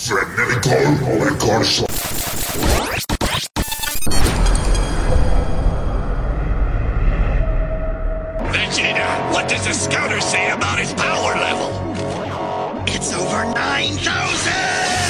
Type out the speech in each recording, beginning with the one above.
Frenetical Records. Vegeta, what does the scouter say about his power level? It's over 9,000!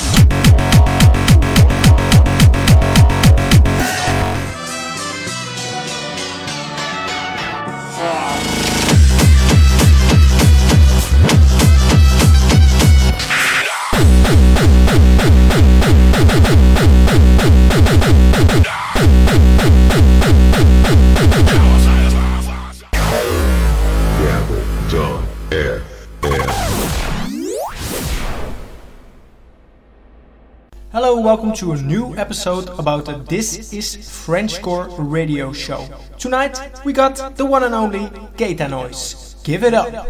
Hello, welcome to a new episode about the This is Frenchcore radio show. Tonight we got the one and only Gaeta Noise. Give it up!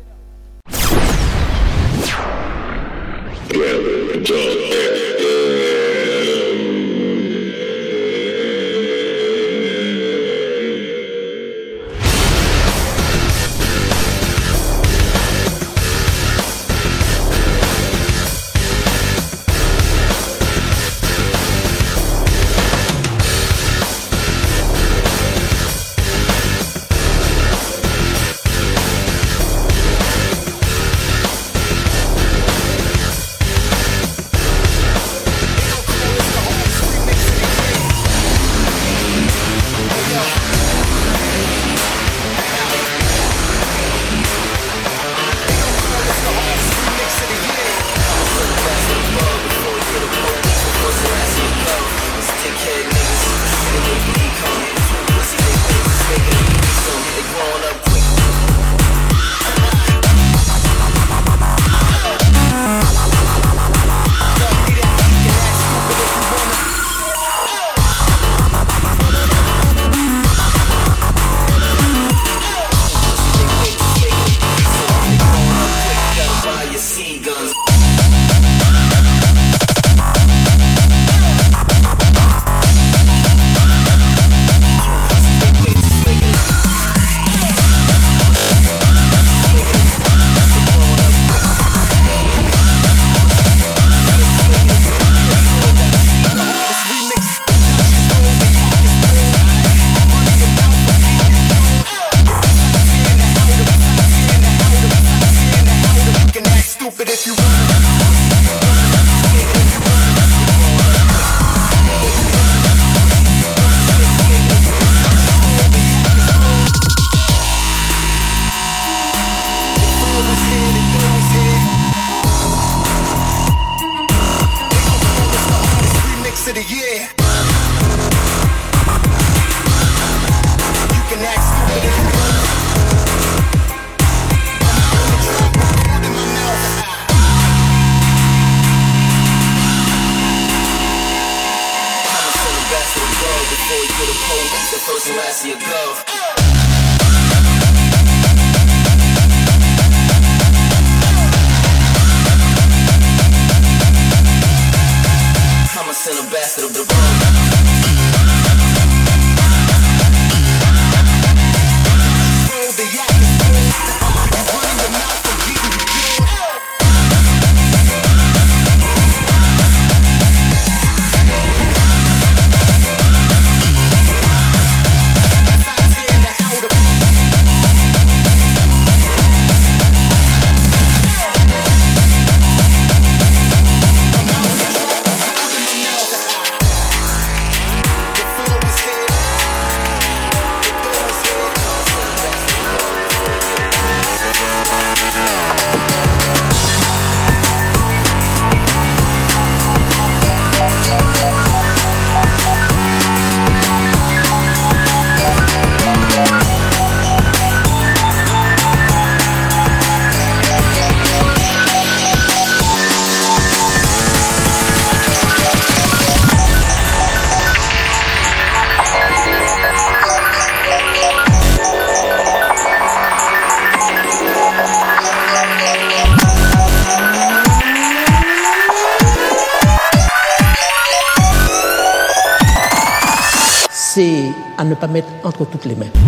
C'est à ne pas mettre entre toutes les mains.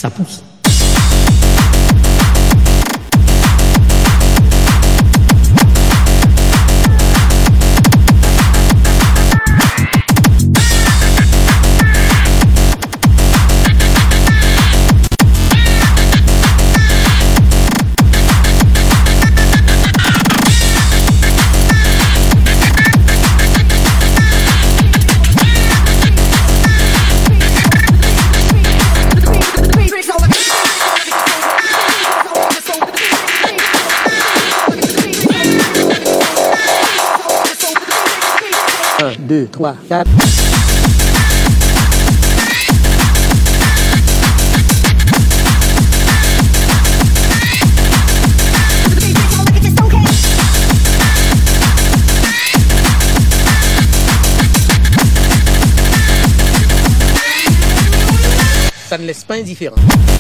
ça pousse. Un, deux, trois, quatre. Ça ne laisse pas indifférent.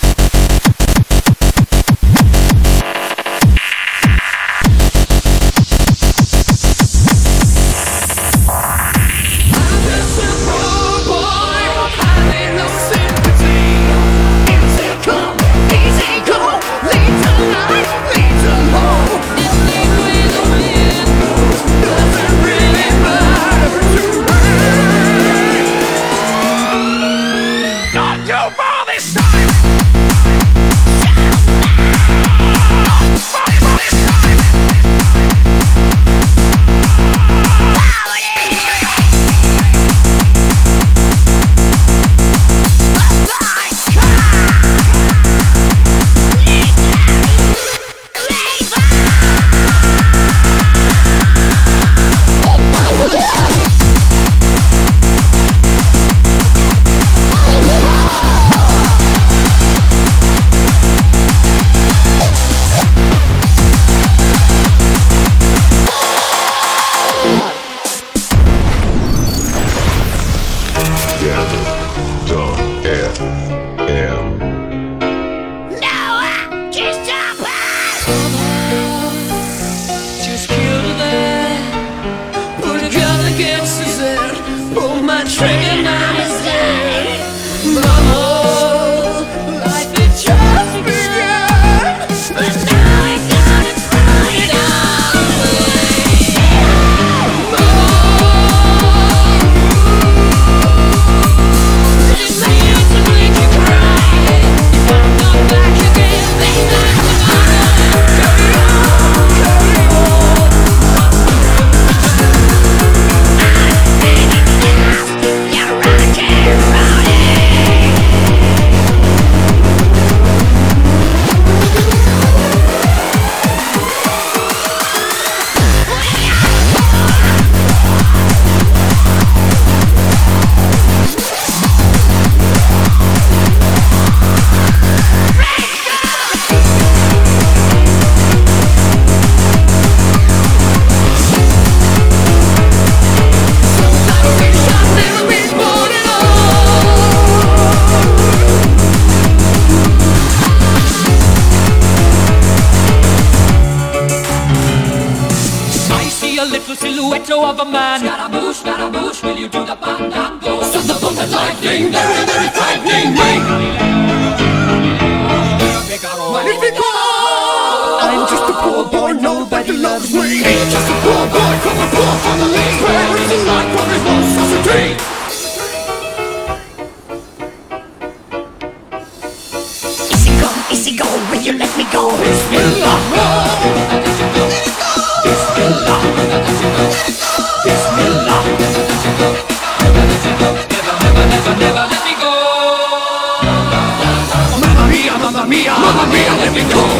Of a man. Scaramouche, will you do the fandango? Thunderbolt and lightning, very, very frightening. Magnifico! I'm just a poor boy, nobody loves me. Just a poor boy from a poor family. Where is the light for his monstrosity? Easy go, will you let me go? Bismillah, Bismillah, Bismillah, never let me go. Mamma mia, mamma mia, mamma mia, let me go.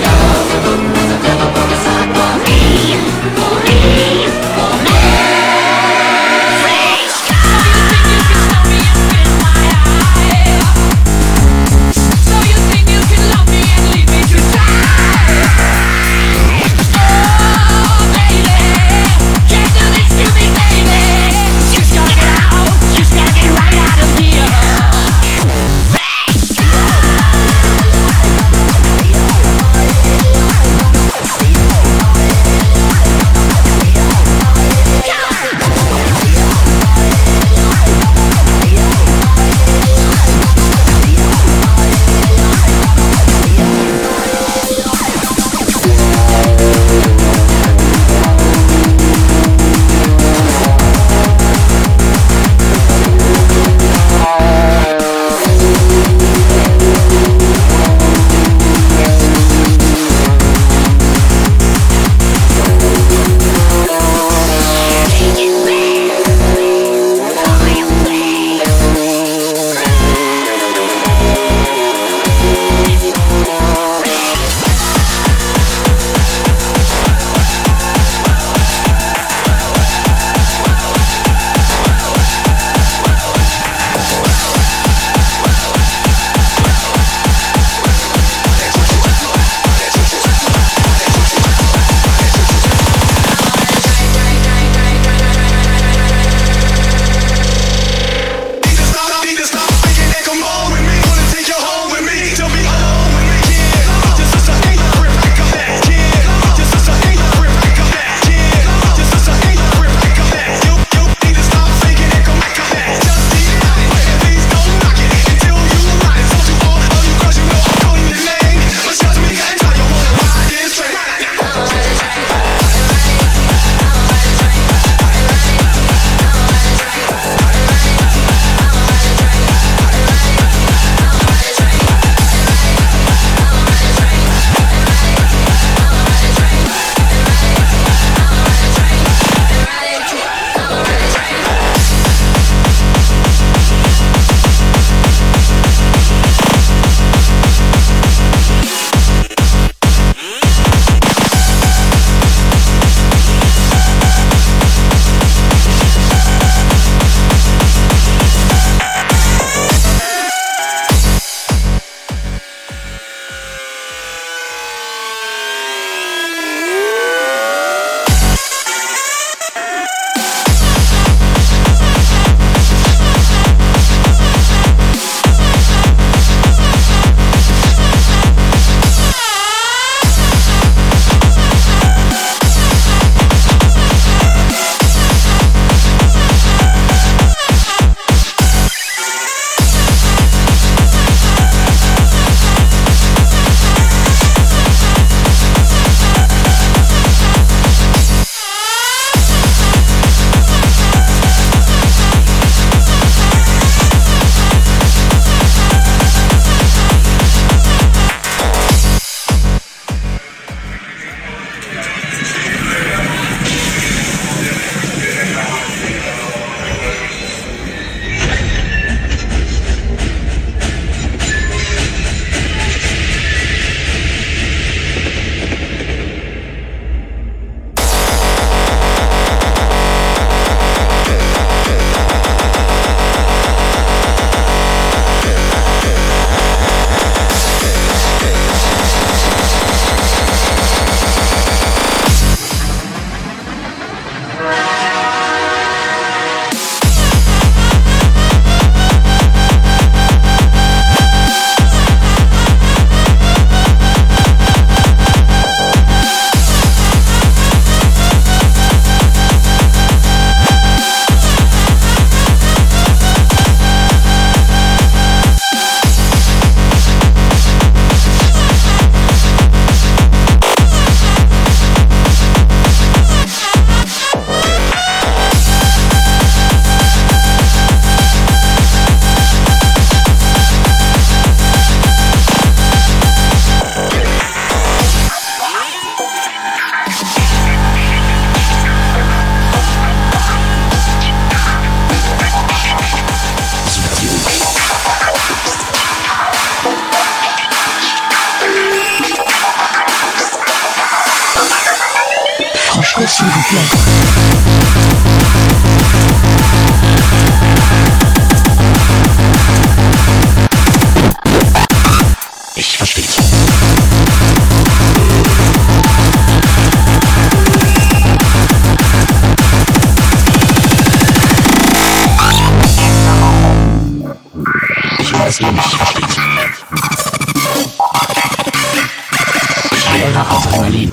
cours s'il vous plaît. Ich versteh's. Ich weiß, ihr nicht versteht. Ich will nach Adrenalin.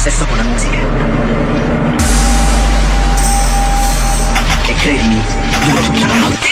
sesso con la musica. E credimi, dura tutta la notte.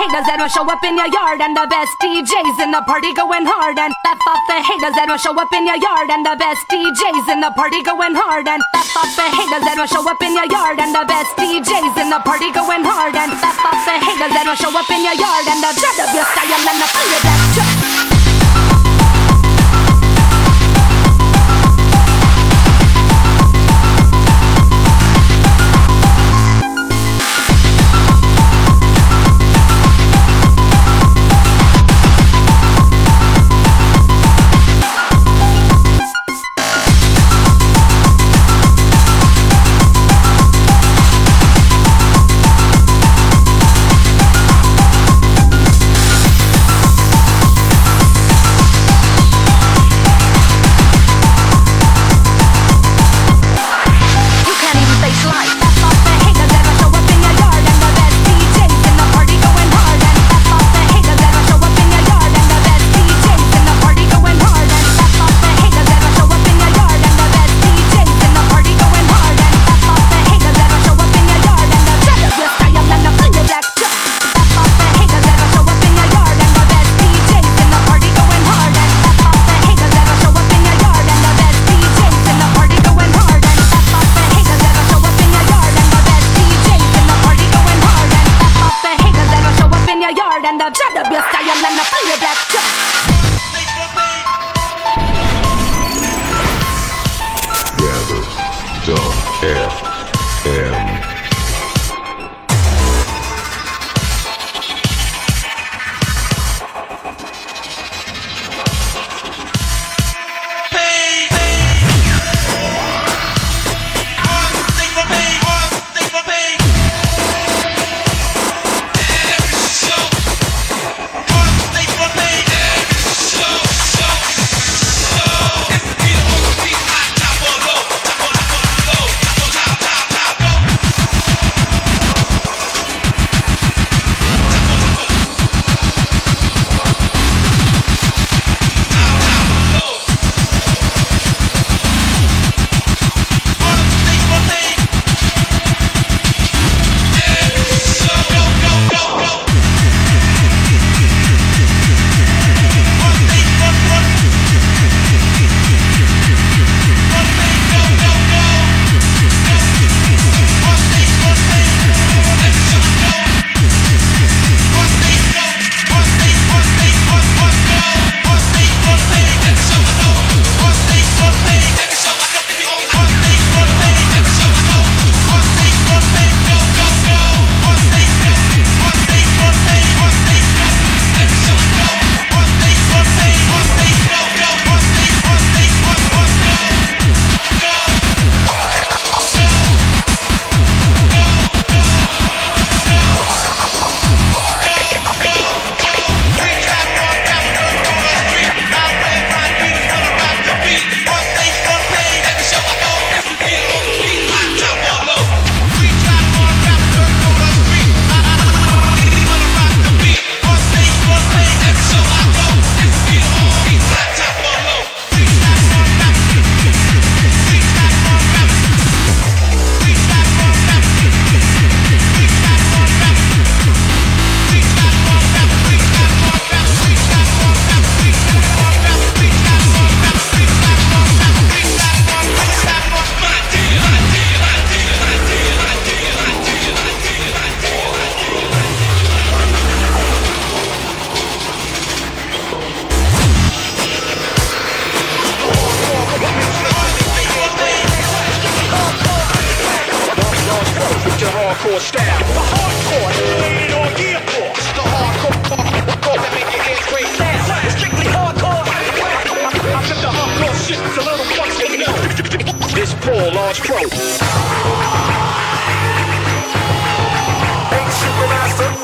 haters that will show up in your yard, and the best DJs in the party going hard, and laugh off the haters that will show up in your yard, and the best DJs in the party going hard, and laugh off the haters that will show up in your yard, and the best DJs in the party going hard, and laugh off the haters that will show up in your yard, and the dread of your style and the feel of that truck. hardcore style. The hardcore, rated on Gear Force. The hardcore that make your ears great now. It's strictly hardcore. I took the hardcore shit to little fucks they know. This Paul Large Pro. Hey, Supermaster.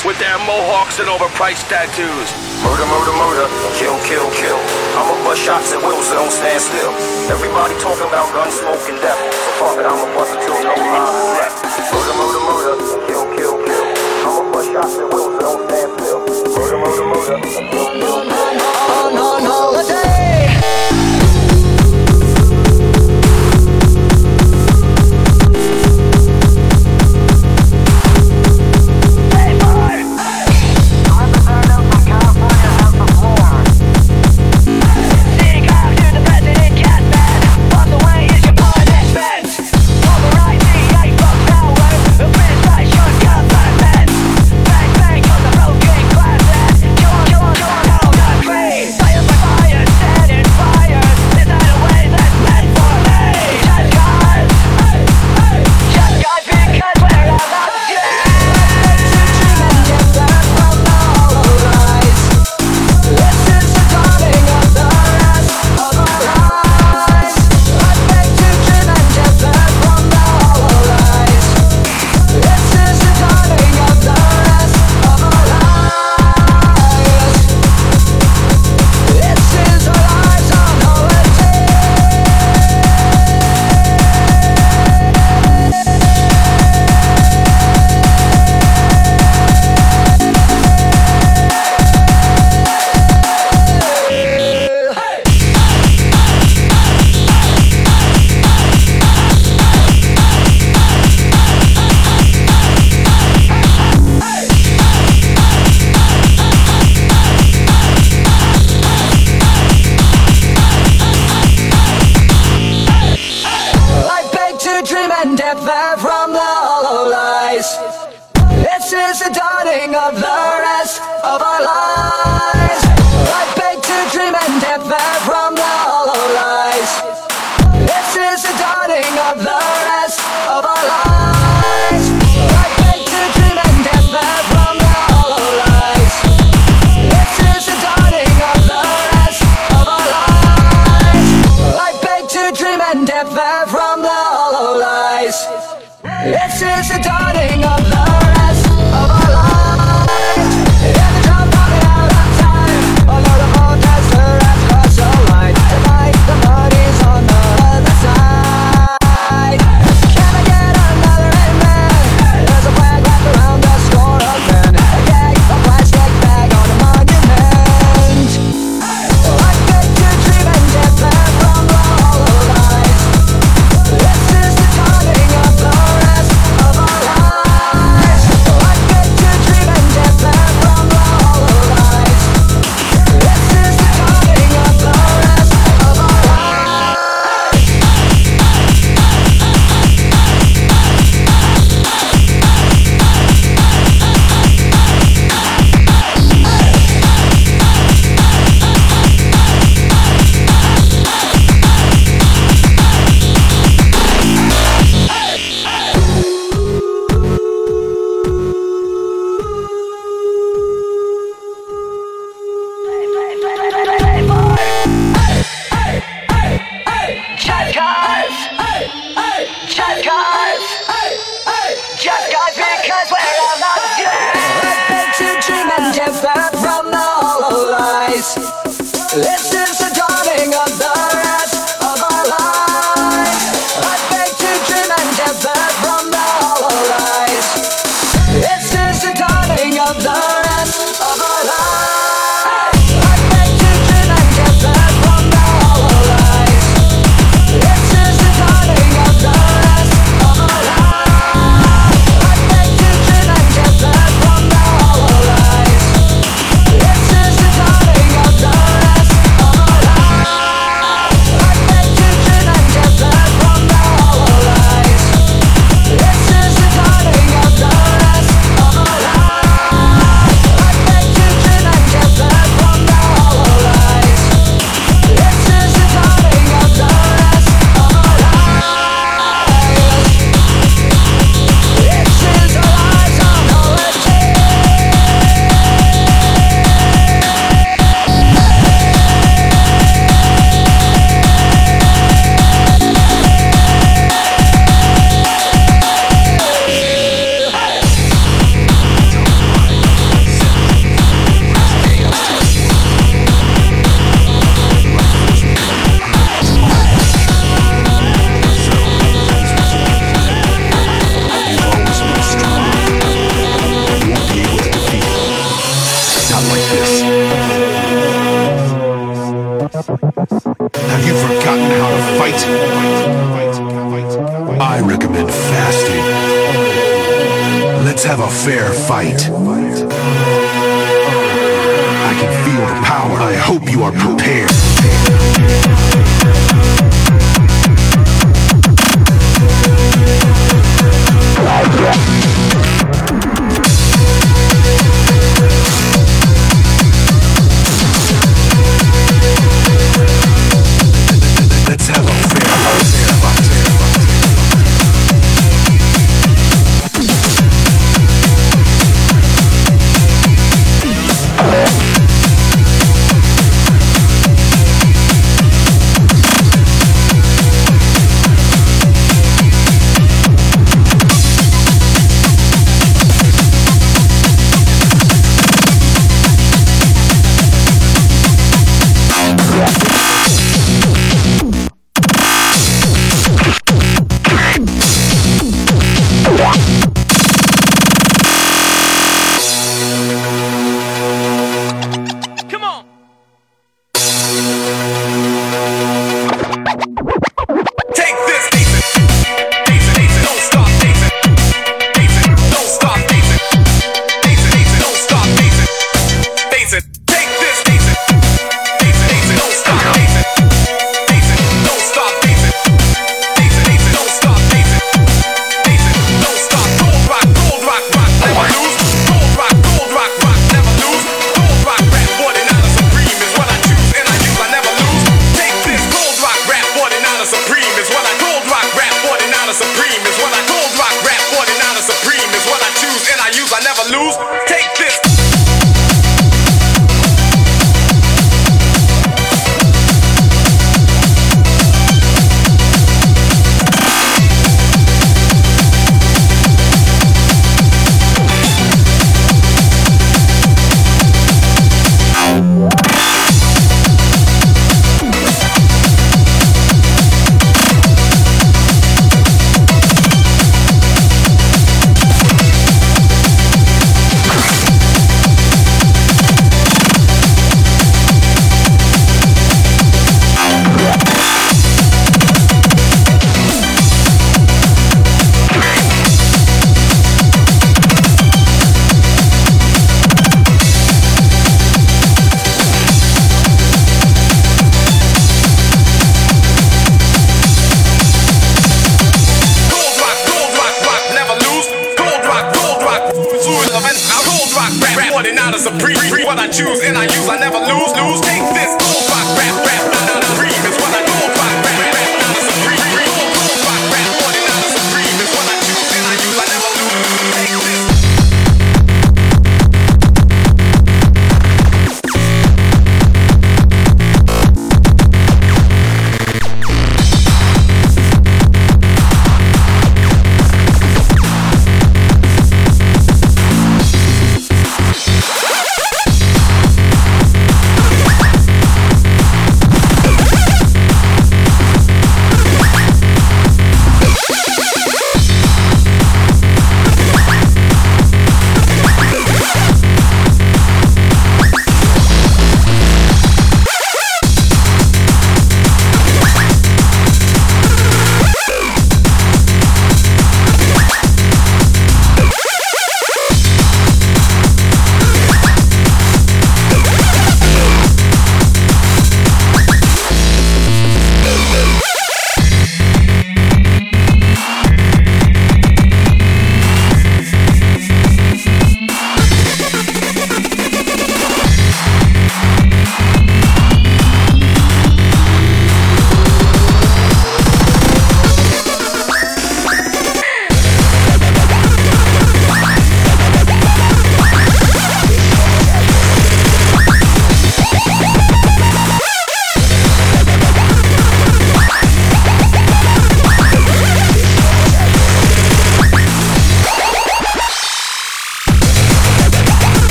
with their mohawks and overpriced tattoos. Murder, murder, murder, kill, kill, kill. I'ma bust shots at will, so don't stand still. Everybody talking about gun smoke and death, so fuck it, I'ma bust until no lives is left. Murder, murder, murder, kill, kill, kill. I'ma bust shots at will, so don't stand still. Murder, murder, murder, kill, kill, kill. On holiday. fight? I recommend fasting. Let's have a fair fight. I can feel the power. I hope you are prepared. Let's have a fair fight.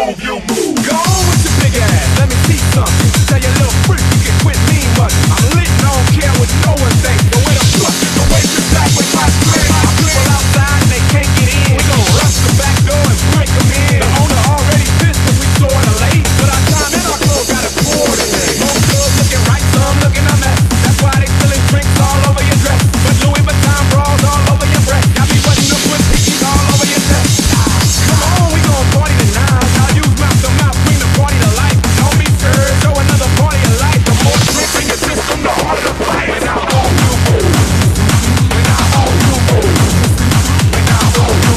move, you move. Go on with your big ass, let me see something. Tell your little freak you can quit me much. I'm lit and I don't care what no one thinks. The way the fuck, the way you back with my swing. People outside and they can't get in. We gon' rush the back door and break them in. The owner already pissed cause we sorta late. But our time and our clothes got it poured today. Most girls looking right, some looking a mess. That's why they spilling drinks all over your dress. But Louis Vuitton bras all over your breast. Got me butting up with pickies all over your chest. Come on, we gon' party tonight. I'll use mouth to mouth, bring the party to life. Don't be scared, show another party of life. The more drinks in your system, the harder the fight. When I hold you, when I hold you, when I hold you,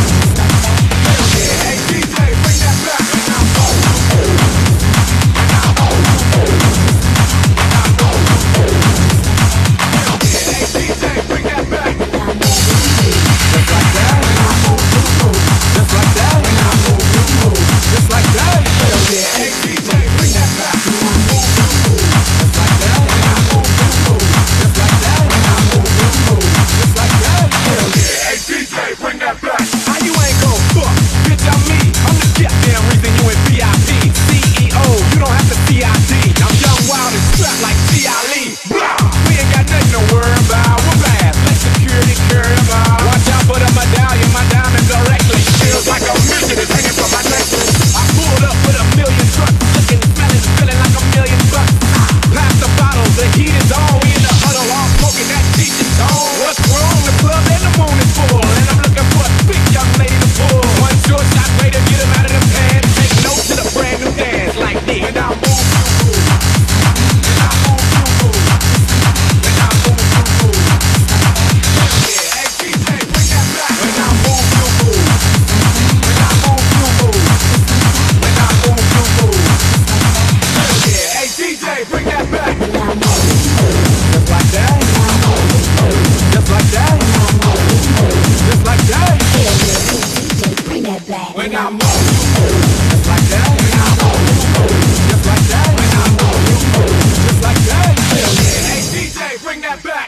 hey DJ, bring that back. When I hold you, when I hold you, when I hold you, hey DJ, bring that back. Just like that. Just like that. Just like that. Hey DJ, bring that back. Just like that. Just like that. Just like that. Hey DJ, bring that back. How you ain't gon' fuck? Bitch, I'm me. I'm the goddamn reason you in VIP. CEO, you don't have to CID. I'm young, wild, and strapped like G.I. We ain't got nothing to worry about. We're bad. Let security carry them out. Watch out for the medallion. My diamond directly feels like a mission is hanging from my necklace. I pulled up with 1 million trucks, looking, smelling, feeling like $1,000,000. Pass the bottles, the heat is on. We in the huddle, all smoking that cheap is on. What's wrong? The club and the moon is full, and I'm looking for a big young lady to pull. One short shot way to get him out of the pants. Take note to the brand new dance like this. When I move, you move. When I move, you move. When I move, you move. Yeah, hey DJ, bring that back. When I move, you move. When I move, you move. When I move, you move. Yeah, hey DJ, bring that back. Just like that. Just like that. Just like that. Bring that back. When I move, you move. Just like that. When I move, you move. Just like that. When I move, you move. Just like that. Hey DJ, bring that back.